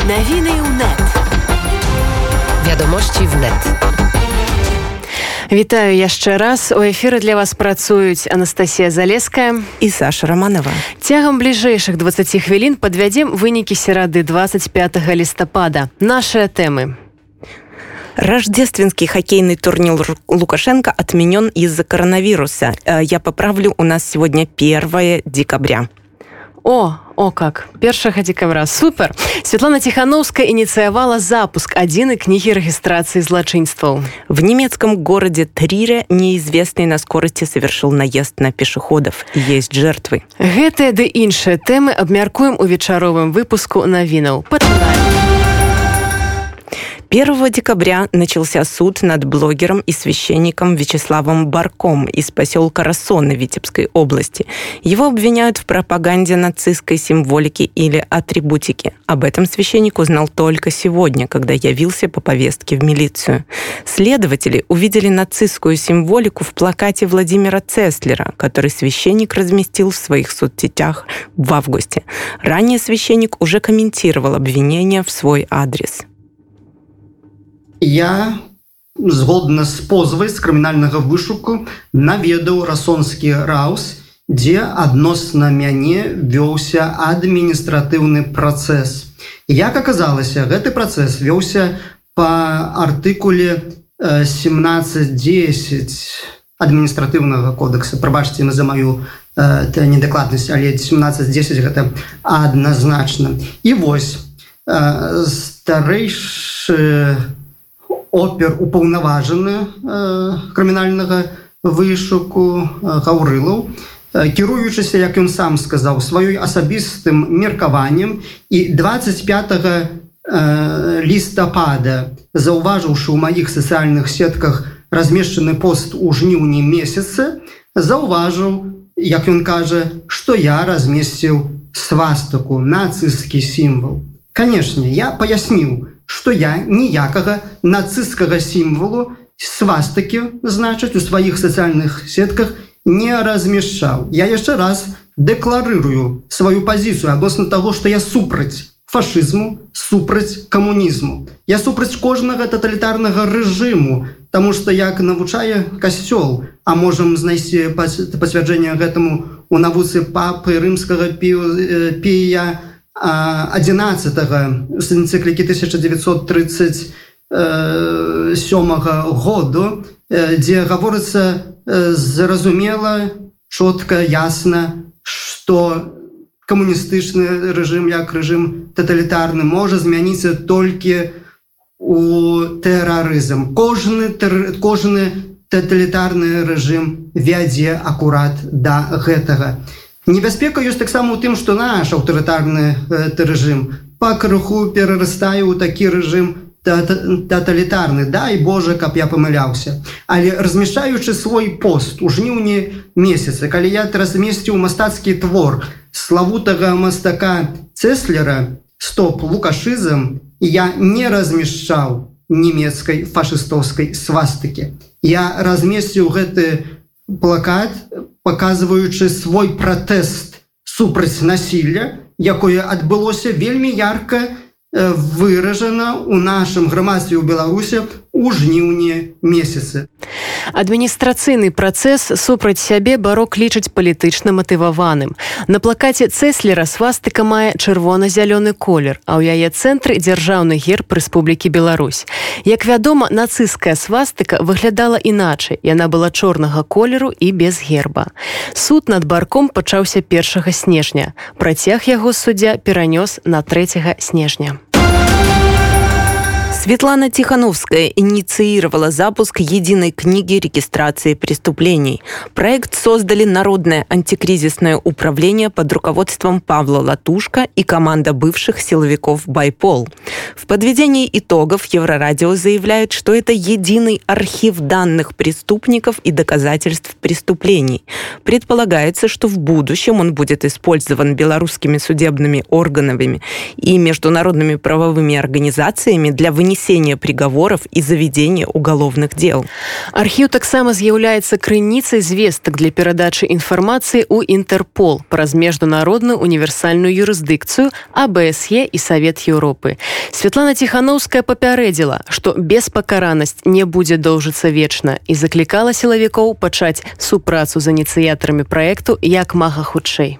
Новини УНЕТ. Вядомості в НЕТ. Вітаю яшчэ раз. У эфіры для вас працуюць Анастасія Залеская і Саша Романова. Цягам бліжэйшых 20 хвілін падвядзем вынікі серады 25 лістапада. Нашыя тэмы. Рождественский хоккейный турнир Лукашенко отменен из-за коронавируса. Я поправлю, у нас сегодня 1 декабря. О как! 1 декабря. Супер! Светлана Тихановская инициировала запуск адзінай книги регистрации злочинствов. В немецком городе Трире неизвестный на скорости совершил наезд на пешеходов. Есть жертвы. Гэтыя ды іншыя тэмы абмяркуем у вечаровым выпуску навінаў. Пачынаем. 1 декабря начался суд над блогером и священником Вячеславом Барком из поселка Рассоны Витебской области. Его обвиняют в пропаганде нацистской символики или атрибутики. Об этом священник узнал только сегодня, когда явился по повестке в милицию. Следователи увидели нацистскую символику в плакате Владимира Цеслера, который священник разместил в своих соцсетях в августе. Ранее священник уже комментировал обвинения в свой адрес. Я, згодна з позвай з крымінальнага вышуку, наведаў Рассонскі раус, дзе адносна мяне вёўся адміністратыўны працэс. Як аказалася, гэты працэс вёўся па артыкуле 17.10 адміністратыўнага кодекса. Прабачце за маю недакладнасць, але 17.10 гэта адназначна. І вось, старэйшы опер упаўнаважаны крымінальнага вышуку Гаўрылаў, кіруючыся, як ён сам сказаў, сваёй асабістым меркаваннем, і 25 лістапада, заўважыўшы ў маіх сацыяльных сетках размешчаны пост у жніўні месяцы, заўважыў, як ён кажа, што я размесціў свастыку, нацысцкі сімвал. Канешне, я паясніў, што я ніякага нацысцкага сімвалу, свастыкі, значыць, у сваіх сацыяльных сетках не размяшчаў. Я яшчэ раз дэкларырую сваю пазіцыю адносна таго, што я супраць фашызму, супраць камунізму. Я супраць кожнага таталітарнага рэжыму, таму што, як навучае Касцёл, а можам знайсці пацвярджэнне гэтаму у навуцы папы рымскага Пія 11-го з энцыклікі 1937 году, дзе гаворыцца зразумела, чётка, ясна, што камуністычны рэжым, як рэжым таталітарны, можа змяніцца толькі у тэрарызм. Кожны таталітарны рэжым вядзе акурат да гэтага. Небяспека ёсць таксама ў тым, што наш аўтарытарны рэжым пакрыху перарастае ў такі рэжым таталітарны. Дай Божа, каб я памыляўся. Але размяшчаючы свой пост у жніўні месяцы, калі я размесціў мастацкі твор славутага мастака Цеслера «Стоп лукашызм», я не размяшчаў нямецкай фашыстоўскай свастыкі. Я размесціў гэты плакат, паказваючы свой пратэст супраць насілля, якое адбылося вельмі ярка выражана ў нашым грамадстве ў Беларусі у жніўні месяцы. Адміністрацыйны працэс супраць сябе Барок лічыць палітычна матываваным. На плакаце Цеслера свастыка мае чырвона-зялёны колер, а ў яе цэнтры дзяржаўны герб Рэспублікі Беларусь. Як вядома, нацысцкая свастыка выглядала іначай. Яна была чорнага колеру і без герба. Суд над Барком пачаўся 1 снежня. Працяг яго суддзя перанёс на 3 снежня. Светлана Тихановская инициировала запуск единой книги регистрации преступлений. Проект создали Народное антикризисное управление под руководством Павла Латушко и команда бывших силовиков «Байпол». В подведении итогов Еврорадио заявляет, что это единый архив данных преступников и доказательств преступлений. Предполагается, что в будущем он будет использован белорусскими судебными органами и международными правовыми организациями для вынесения вынесения приговоров и заведения уголовных дел. Архіў таксама з'яўляецца крыніцай звестак для перадачы інфармацыі ў Інтэрпол праз міжнародную універсальную юрысдыкцыю, АБСЕ і Савет Еўропы. Святлана Ціханаўская папярэдзіла, што беспакаранасць не будзе доўжыцца вечна і заклікала сілавікоў пачаць супрацу з ініцыятарамі праекту як мага хутчэй.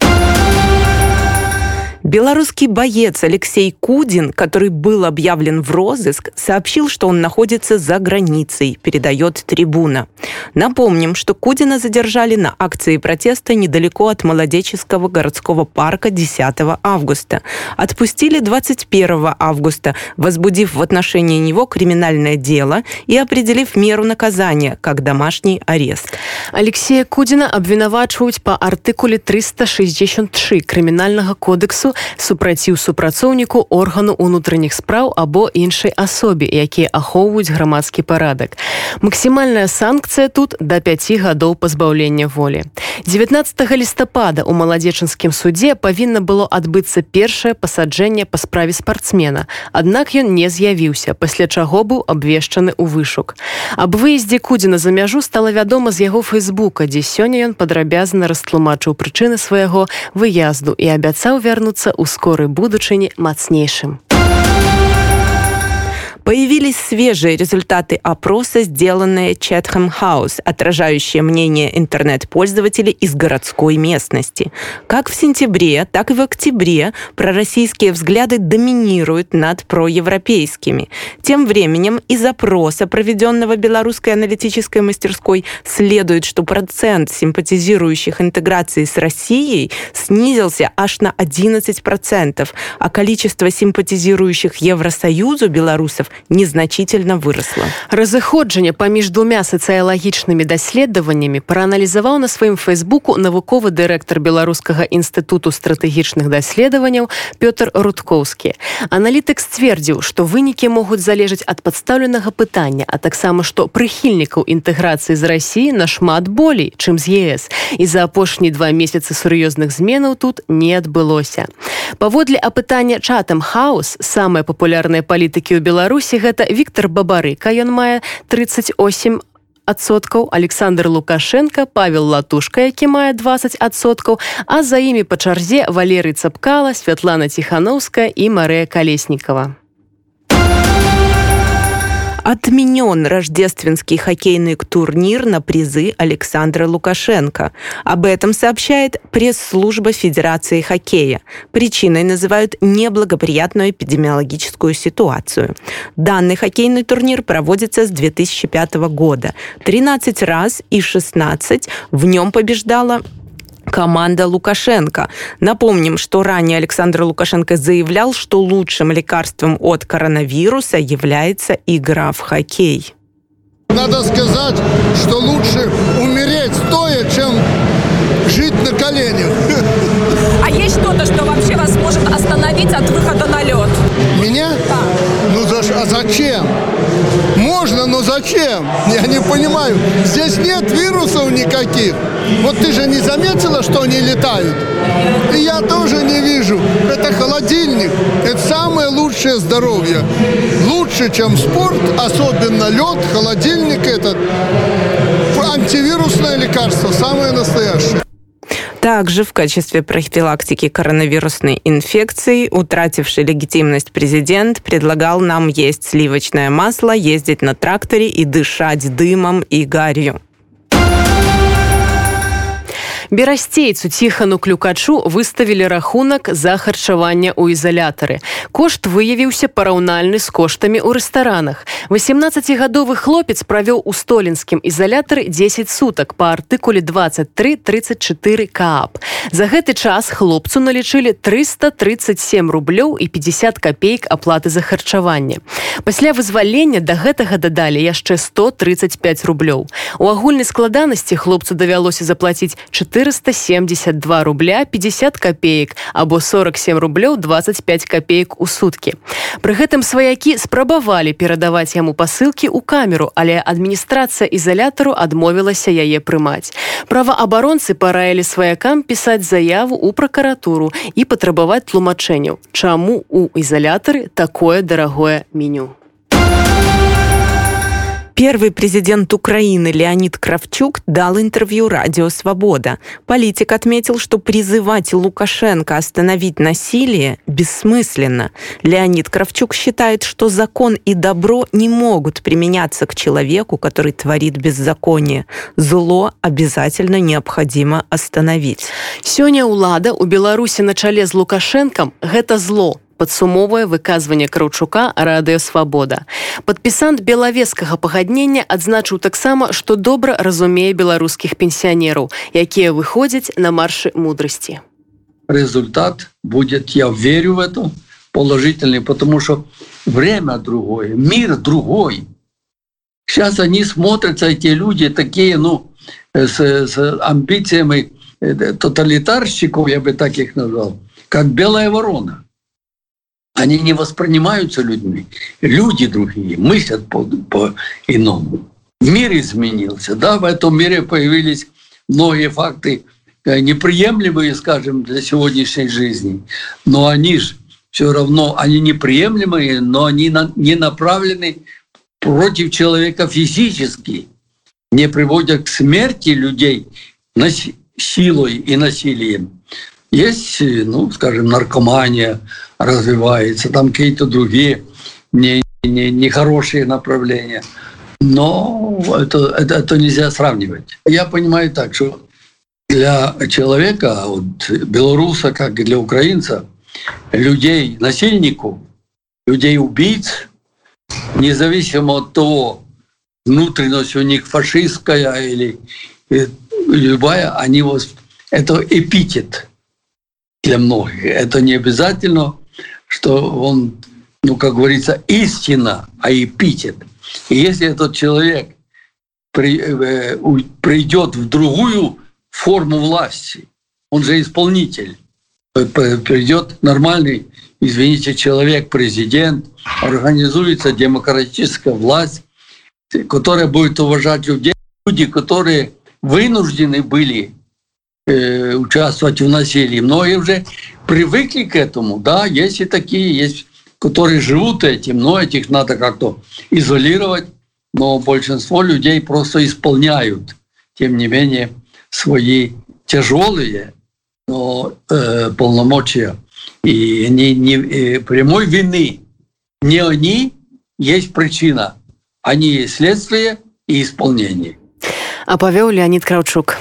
Белорусский боец Алексей Кудин, который был объявлен в розыск, сообщил, что он находится за границей, передает «Трибуна». Напомним, что Кудина задержали на акции протеста недалеко от Молодеческого городского парка 10 августа. Отпустили 21 августа, возбудив в отношении него криминальное дело и определив меру наказания, как домашний арест. Алексея Кудина абвінавачваюць па артыкуле 363 Крымінальнага кодексу супраціў супрацоўніку органу ўнутраных спраў або іншай асобе, якія ахоўваюць грамадскі парадак. Максімальная санкцыя тут да 5 гадоў пазбаўлення волі. 19 лістапада ў Маладзечынскім судзе павінна было адбыцца першае пасаджэнне па справе спартсмена, аднак ён не з'явіўся, пасля чаго быў абвешчаны ў вышук. Аб выездзе Кудзіна за мяжу стала вядома з яго фэйсбука, дзе сёння ён падрабязна растлумачыў прычыны свайго выязду і абяцаў вярнуцца ў скорай будучыні мацнейшым. Появились свежие результаты опроса, сделанные Chatham House, отражающие мнение интернет-пользователей из городской местности. Как в сентябре, так и в октябре пророссийские взгляды доминируют над проевропейскими. Тем временем из опроса, проведенного Белорусской аналитической мастерской, следует, что процент симпатизирующих интеграции с Россией снизился аж на 11%, а количество симпатизирующих Евросоюзу белорусов незначительно выросла. Разыходжанне паміж двумя сацыялагічнымі даследаваннямі прааналізаваў на сваім фэйсбуку навуковы дырэктар Беларускага інстытуту стратэгічных даследаванняў Пётр Рудкоўскі. Аналітык сцвердзіў, што вынікі могуць залежаць ад падстаўленага пытання, а таксама, што прыхільнікаў інтэграцыі з Расіі нашмат болей, чым з ЕС. І за апошнія 2 месяцы сур'ёзных зменаў тут не адбылося. Паводле апытання Chatham House, самыя папулярныя палітыкі ў Беларусі гэта Віктор Бабарыка, ён мае 38%, Александр Лукашенко, Павел Латушка, які мае 20%, а за імі па чарзе Валерый Цапкала, Святлана Ціханаўская і Марыя Калеснікова. Отменен рождественский хоккейный турнир на призы Александра Лукашенко. Об этом сообщает пресс-служба Федерации хоккея. Причиной называют неблагоприятную эпидемиологическую ситуацию. Данный хоккейный турнир проводится с 2005 года. 13 раз и 16 в нем побеждала команда Лукашенко. Напомним, что ранее Александр Лукашенко заявлял, что лучшим лекарством от коронавируса является игра в хоккей. Надо сказать, что лучше умереть стоя, чем жить на коленях. А есть что-то, что вообще вас может остановить от выхода на лед? Меня? Да. А зачем? Можно, но зачем? Я не понимаю. Здесь нет вирусов никаких. Вот ты же не заметила, что они летают? И я тоже не вижу. Это холодильник. Это самое лучшее здоровье. Лучше, чем спорт, особенно лед, холодильник этот. Антивирусное лекарство, самое настоящее. Также в качестве профилактики коронавирусной инфекции утративший легитимность президент предлагал нам есть сливочное масло, ездить на тракторе и дышать дымом и гарью. Берасцейцу Ціхану Клюкачу выставілі рахунак за харчаванне ў ізалятары. Кошт выявіўся параўнальны з коштамі ў рэстаранах. 18-гадовы хлопец правёў у столінскім ізалятары 10 сутак па артыкуле 23.34 КААП. За гэты час хлопцу налічылі 337 рублёў і 50 копеек аплаты за харчаванне. Пасля вызвалення да гэтага дадалі яшчэ 135 рублёў. У агульнай складанасці хлопцу давялося заплаціць 472 рубля 50 копеек або 47 рублёў 25 копеек у суткі. Пры гэтым сваякі спрабавалі перадаваць яму пасылкі ў камеру, але адміністрацыя ізалятару адмовілася яе прымаць. Праваабаронцы параілі сваякам пісаць заяву ў пракуратуру і патрабаваць тлумачэнняў, чаму ў ізалятары такое дарагое меню. Первый президент Украины Леонид Кравчук дал интервью «Радио Свобода». Политик отметил, что призывать Лукашенко остановить насилие бессмысленно. Леонид Кравчук считает, что закон и добро не могут применяться к человеку, который творит беззаконие. Зло обязательно необходимо остановить. Сёння ўлада ў Беларусі на чале з Лукашэнкам – гэта зло. Падсумоўвае выказванне Краўчука «Радыё Свабода». Падпісант белавежскага пагаднення адзначыў таксама, што добра разумее беларускіх пенсіянераў, якія выходзяць на маршы мудрасці. Результат будет, я верю в это, положительный, потому что время другое, мир другой. Сейчас они смотрятся, эти люди такие, с амбициями тоталитарщиков, я бы так их назвал, как белая ворона. Они не воспринимаются людьми. Люди другие, мыслят по-иному. Мир изменился. Да, в этом мире появились многие факты неприемлемые, скажем, для сегодняшней жизни. Но они же все равно, они неприемлемые, но они не направлены против человека физически, не приводят к смерти людей силой и насилием. Есть, скажем, наркомания развивается, там какие-то другие нехорошие направления. Но это нельзя сравнивать. Я понимаю так, что для человека, белоруса, как и для украинца, людей, насильников, людей-убийц, независимо от того, внутренность у них фашистская или любая, это эпитет для многих. Это не обязательно, что он, как говорится, истина, а эпитет. И если этот человек придет в другую форму власти, он же исполнитель, придет нормальный, извините, человек, президент, организуется демократическая власть, которая будет уважать людей, люди, которые вынуждены были участвовать в насилии. Многие уже привыкли к этому. Да, есть и такие, есть, которые живут этим, но этих надо как-то изолировать. Но большинство людей просто исполняют, тем не менее, свои тяжелые полномочия. И прямой вины не они есть причина. Они есть следствие и исполнение. А повел Леонид Кравчук.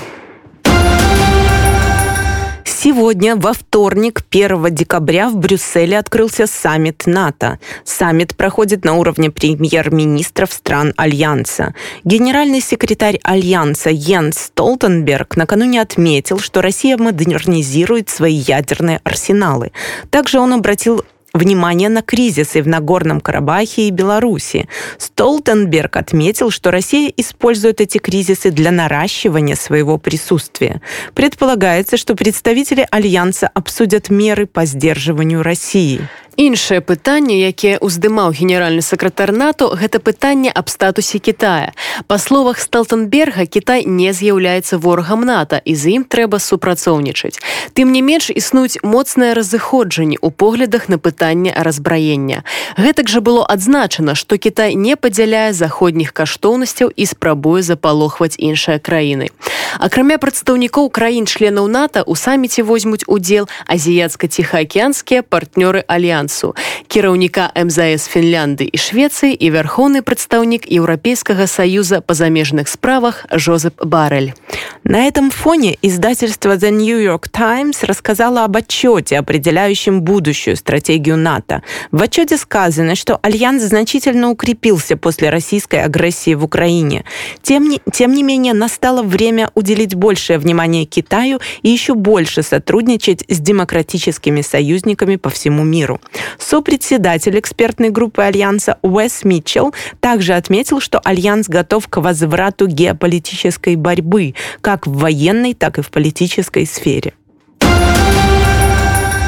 Сегодня, во вторник, 1 декабря, в Брюсселе открылся саммит НАТО. Саммит проходит на уровне премьер-министров стран Альянса. Генеральный секретарь Альянса Йенс Столтенберг накануне отметил, что Россия модернизирует свои ядерные арсеналы. Также он обратил внимание на кризисы в Нагорном Карабахе и Беларуси. Столтенберг отметил, что Россия использует эти кризисы для наращивания своего присутствия. Предполагается, что представители Альянса обсудят меры по сдерживанию России. Іншае пытанне, якое уздымаў генеральны сакратар НАТО, гэта пытанне аб статусе Китая. Па словах Столтенберга, Кітай не з'яўляецца ворагам НАТО, і з ім трэба супрацоўнічаць. Тым не менш, існуюць моцныя разыходжанні ў поглядах на пытанне разбраення. Гэтак жа было адзначана, што Кітай не падзяляе заходніх каштоўнасцяў і спрабуе запалохваць іншыя краіны. Акрамя прадстаўнікоў краін-членаў НАТО, у саміце возьмуць удзел азіяцка-ціхаакіянскія партнёры Альянса, кіраўніка МЗС Фінляндыі і Швецыі і вярхоўны прадстаўнік Еўрапейскага саюза па замежных справах Жозеп Барель. На этом фоне издательство The New York Times рассказало об отчете, определяющем будущую стратегию НАТО. В отчете сказано, что Альянс значительно укрепился после российской агрессии в Украине. Тем не менее, настало время уделить большее внимание Китаю и еще больше сотрудничать с демократическими союзниками по всему миру. Сопредседатель экспертной группы Альянса Уэс Митчелл также отметил, что Альянс готов к возврату геополитической борьбы, как в военной, так и в политической сфере.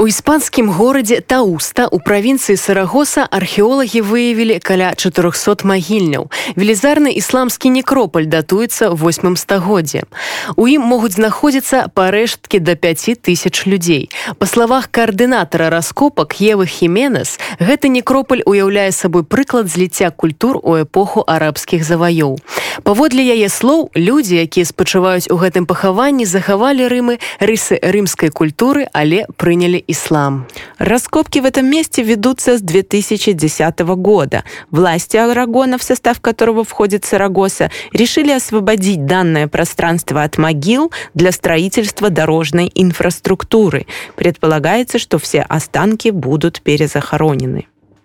У іспанскім горадзе Тауста у правінцыі Сарагоса археолагі выявілі каля 400 магільняў. Велізарны ісламскі некропаль датуецца 8 стагоддзем. У ім могуць знаходзіцца парэшткі да 5000 людзей. Па словах каардынатара раскопак Евы Хіменес, гэты некропаль уяўляе сабой прыклад зліцця культур у эпоху арабскіх заваёў. Паводле яе слоў, людзі, якія спачываюць у гэтым пахаванні, захавалі рысы рымскай культуры, але приняли ислам. Раскопки в этом месте ведутся с 2010 года. Власти Арагона, в состав которого входит Сарагоса, решили освободить данное пространство от могил для строительства дорожной инфраструктуры. Предполагается, что все останки будут перезахоронены.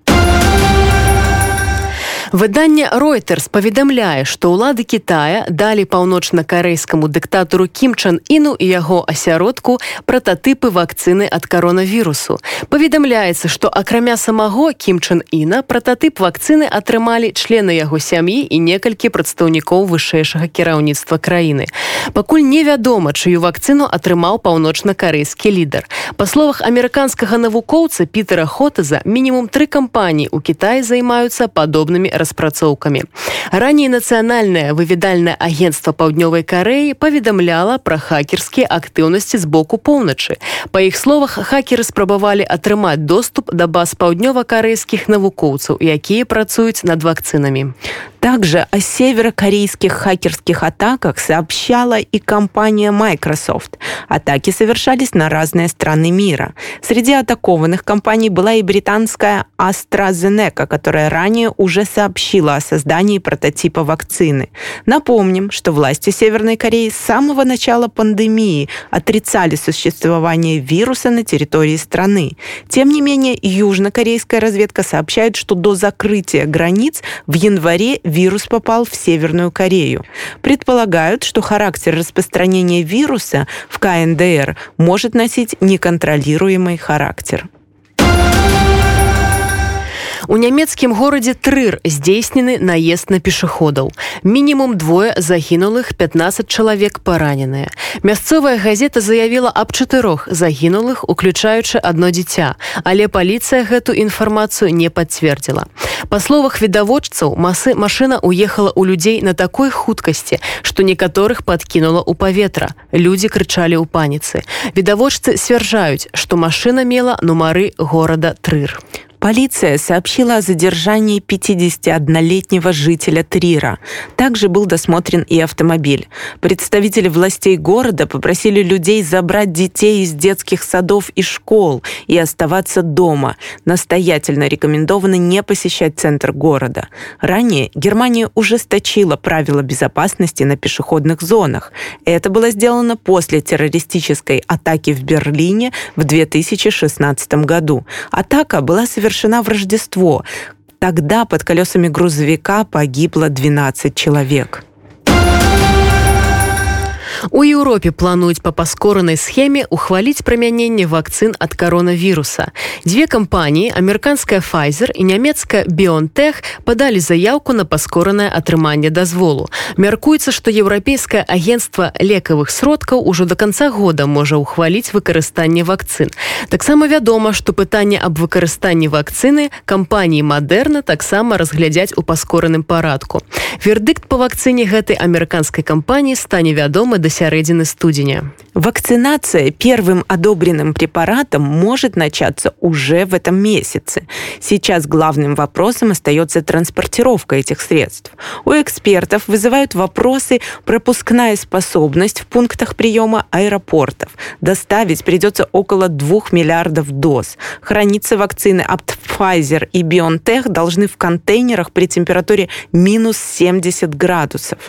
Выданне Reuters паведамляе, што ўлады Кітая далі паўночна-карэйскаму дыктатару Кім Чен Іну і яго асяродку прататыпы вакцыны ад каронавірусу. Паведамляецца, што акрамя самого Кім Чен Іна прататып вакцыны атрымалі члены яго сям'і і некалькі прадстаўнікоў вышэйшага кіраўніцтва краіны. Пакуль невядома, чыю вакцыну атрымаў паўночна-карэйскі лідар. Па словах амерыканскага навукоўца Пітера Хотеза, мінімум 3 кампаніі ў Кітаі займаюцца падобнымі распрацоўкамі. Раней нацыянальнае выведальнае агенцтва Паўднёвай Карэі паведамляла пра хакерскія актыўнасці з боку поўначы. Па іх словах, хакеры спрабавалі атрымаць доступ да баз паўднёва-карэйскіх навукоўцаў, якія працуюць над вакцынамі. Также о северокорейских хакерских атаках сообщала и компания Microsoft. Атаки совершались на разные страны мира. Среди атакованных компаний была и британская AstraZeneca, которая ранее уже сообщила о создании прототипа вакцины. Напомним, что власти Северной Кореи с самого начала пандемии отрицали существование вируса на территории страны. Тем не менее, южнокорейская разведка сообщает, что до закрытия границ в январе вирус попал в Северную Корею. Предполагают, что характер распространения вируса в КНДР может носить неконтролируемый характер. У нямецкім горадзе Трыр здзейснены наезд на пешаходаў. Мінімум 2 загінулых, 15 чалавек параненыя. Мясцовая газета заявіла аб 4 загінулых, уключаючы 1 дзіця, але паліцыя гэту інфармацыю не пацвердзіла. Па словах відавочцаў, машына уехала ў людзей на такой хуткасці, што некаторых падкінула ў паветра. Людзі крычалі ў паніцы. Відавочцы сцвярджаюць, што машына мела нумары горада Трыр. Полиция сообщила о задержании 51-летнего жителя Трира. Также был досмотрен и автомобиль. Представители властей города попросили людей забрать детей из детских садов и школ и оставаться дома. Настоятельно рекомендовано не посещать центр города. Ранее Германия ужесточила правила безопасности на пешеходных зонах. Это было сделано после террористической атаки в Берлине в 2016 году. Атака была совершена в Рождество. Тогда под колесами грузовика погибло 12 человек. У Еўропе плануюць па паскоранай схеме ухваліць прымяненне вакцын ад каронавіруса. 2 кампаніі, амерыканская Pfizer і нямецкая BioNTech, падалі заяўку на паскоранае атрыманне дазволу. Мяркуецца, што еўрапейскае агенцтва лекавых сродкаў ужо да канца года можа ухваліць выкарыстанне вакцын. Таксама вядома, што пытанне аб выкарыстанні вакцыны кампаніі Moderna таксама разглядзяць у паскораным парадку. Вердыкт па вакцыне гэтай амерыканскай кампаніі стане вядомы до середины студеня. Вакцинация первым одобренным препаратом может начаться уже в этом месяце. Сейчас главным вопросом остается транспортировка этих средств. У экспертов вызывают вопросы пропускная способность в пунктах приема аэропортов. Доставить придется около 2 миллиардов доз. Храниться вакцины от Pfizer и BioNTech должны в контейнерах при температуре минус 70 градусов.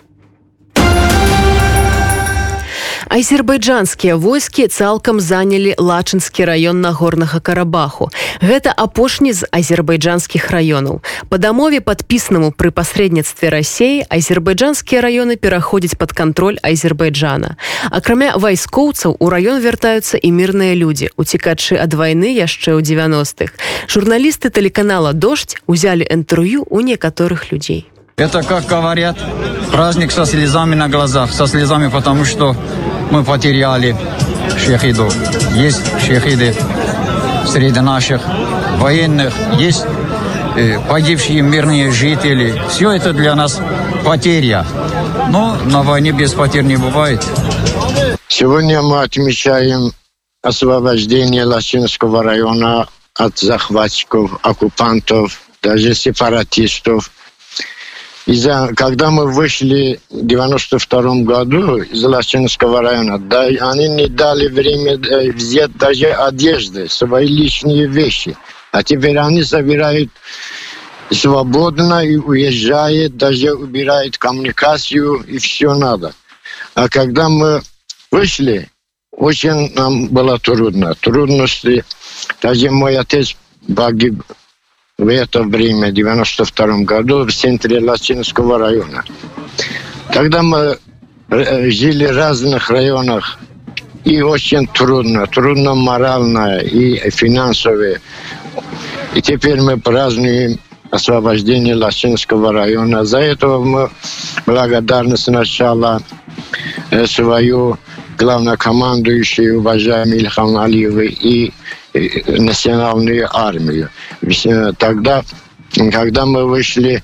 Азербайджанскія войскі цалкам занялі Лачынскі раён Нагорнага Карабаху. Гэта апошні з азербайджанскіх раёнаў. Па дамове, падпісанаму пры пасрэдніцтве Расіі, азербайджанскія раёны пераходзяць пад кантроль Азербайджана. Акрамя вайскоўцаў, у раён вяртаюцца і мірныя людзі, уцекачы ад вайны яшчэ ў 90-х. Журналісты тэлеканала «Дождь» узялі інтэрв'ю у некаторых людзей. Это, как говорят, праздник со слезами на глазах. Со слезами, потому что мы потеряли шахидов. Есть шахиды среди наших военных, есть погибшие мирные жители. Все это для нас потеря. Но на войне без потерь не бывает. Сегодня мы отмечаем освобождение Лачинского района от захватчиков, оккупантов, даже сепаратистов. Когда мы вышли в 1992 году из Лачинского района, они не дали время взять даже одежды, свои личные вещи. А теперь они собирают свободно и уезжают, даже убирают коммуникацию, и все надо. А когда мы вышли, очень нам было трудно. Трудности. Даже мой отец погиб в это время, в 1992 году, в центре Лачинского района. Тогда мы жили в разных районах, и очень трудно морально и финансово. И теперь мы празднуем освобождение Лачинского района. За это мы благодарны сначала свою главнокомандующую, уважаемую Ильхам Алиевой, и национальную армию. Тогда, когда мы вышли,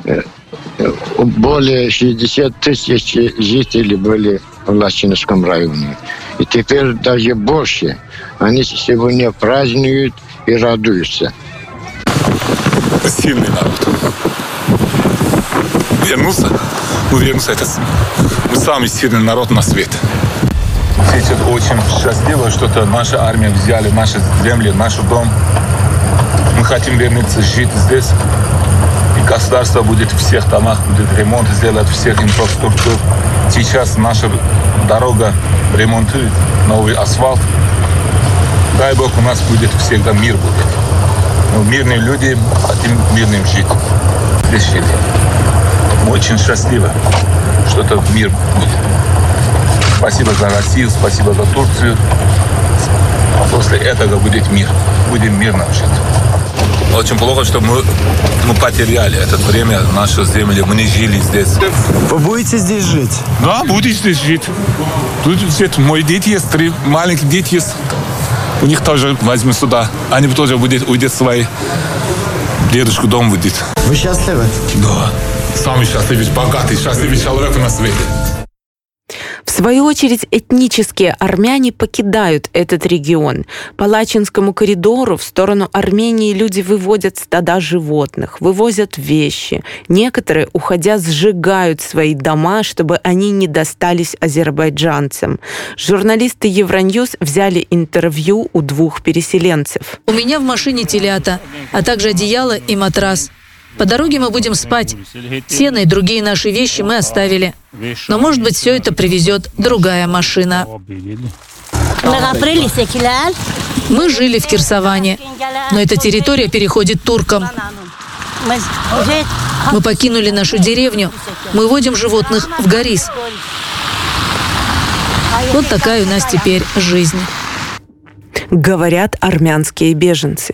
более 60 тысяч жителей были в Лачинском районе. И теперь даже больше. Они сегодня празднуют и радуются. Сильный народ. Вернулся, это мы самый сильный народ на свете. Сейчас очень счастливо, что наша армия взяли наши земли, наш дом. Мы хотим вернуться жить здесь. И государство будет в всех домах, будет ремонт сделать всех инфраструктур. Сейчас наша дорога ремонтует, новый асфальт. Дай Бог, у нас будет всегда мир будет. Но мирные люди хотим мирным жить. Здесь жить. Мы очень счастливы, что это мир будет. Спасибо за Россию, спасибо за Турцию. После этого будет мир. Будем мирно жить. Очень плохо, что мы потеряли это время, наши земли. Мы не жили здесь. Вы будете здесь жить? Да, буду здесь жить. Тут мои дети есть, 3 маленькие дети есть. У них тоже возьму сюда. Они тоже уйдут в свой дедушку дом будет. Вы счастливы? Да. Самый счастливый, богатый, счастливый человек на свете. В свою очередь, этнические армяне покидают этот регион. По Лачинскому коридору в сторону Армении люди выводят стада животных, вывозят вещи. Некоторые, уходя, сжигают свои дома, чтобы они не достались азербайджанцам. Журналисты Евроньюз взяли интервью у 2 переселенцев. У меня в машине телята, а также одеяло и матрас. По дороге мы будем спать. Сено и другие наши вещи мы оставили. Но, может быть, все это привезет другая машина. Мы жили в Кирсаване, но эта территория переходит туркам. Мы покинули нашу деревню. Мы водим животных в Горис. Вот такая у нас теперь жизнь. Говорят армянские беженцы.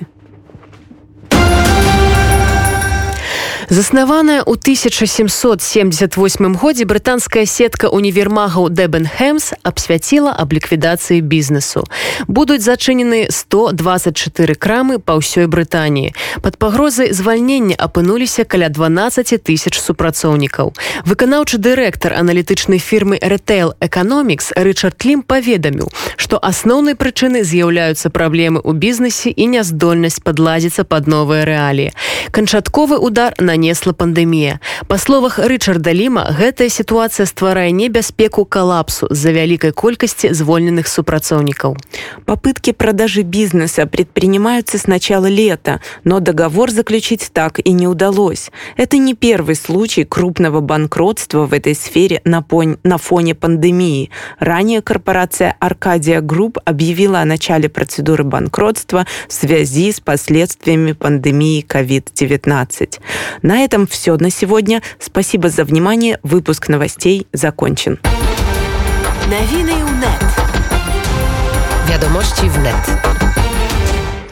Заснаваная ў 1778 годзе брытанская сетка універмагаў Debenhams абсвяціла аб ліквідацыі бізнесу. Будуць зачынены 124 крамы па ўсёй Брытаніі. Пад пагрозай звальнення апынуліся каля 12 тысяч супрацоўнікаў. Выканаўчы дырэктар аналітычнай фірмы Retail Economics Рычард Лім паведаміў, што асноўнай прычынай з'яўляюцца праблемы ў бізнесе і няздольнасць падладзіцца пад новыя рэаліі. Канчатковы удар нанесла пандэмія. Па словах Рычарда Ліма, гэтая ситуация стварае небяспеку коллапсу з-за вялікай колькасці звольненых супрацоўнікаў. Попытки продажи бизнеса предпринимаются с начала лета, но договор заключить так и не удалось. Это не первый случай крупного банкротства в этой сфере на фоне пандемии. Ранее корпорация Arcadia Group объявила о начале процедуры банкротства в связи с последствиями пандемии COVID-19. На этом все на сегодня. Спасибо за внимание. Выпуск новостей закончен. Новины УНЕТ. Wiadomości wnet.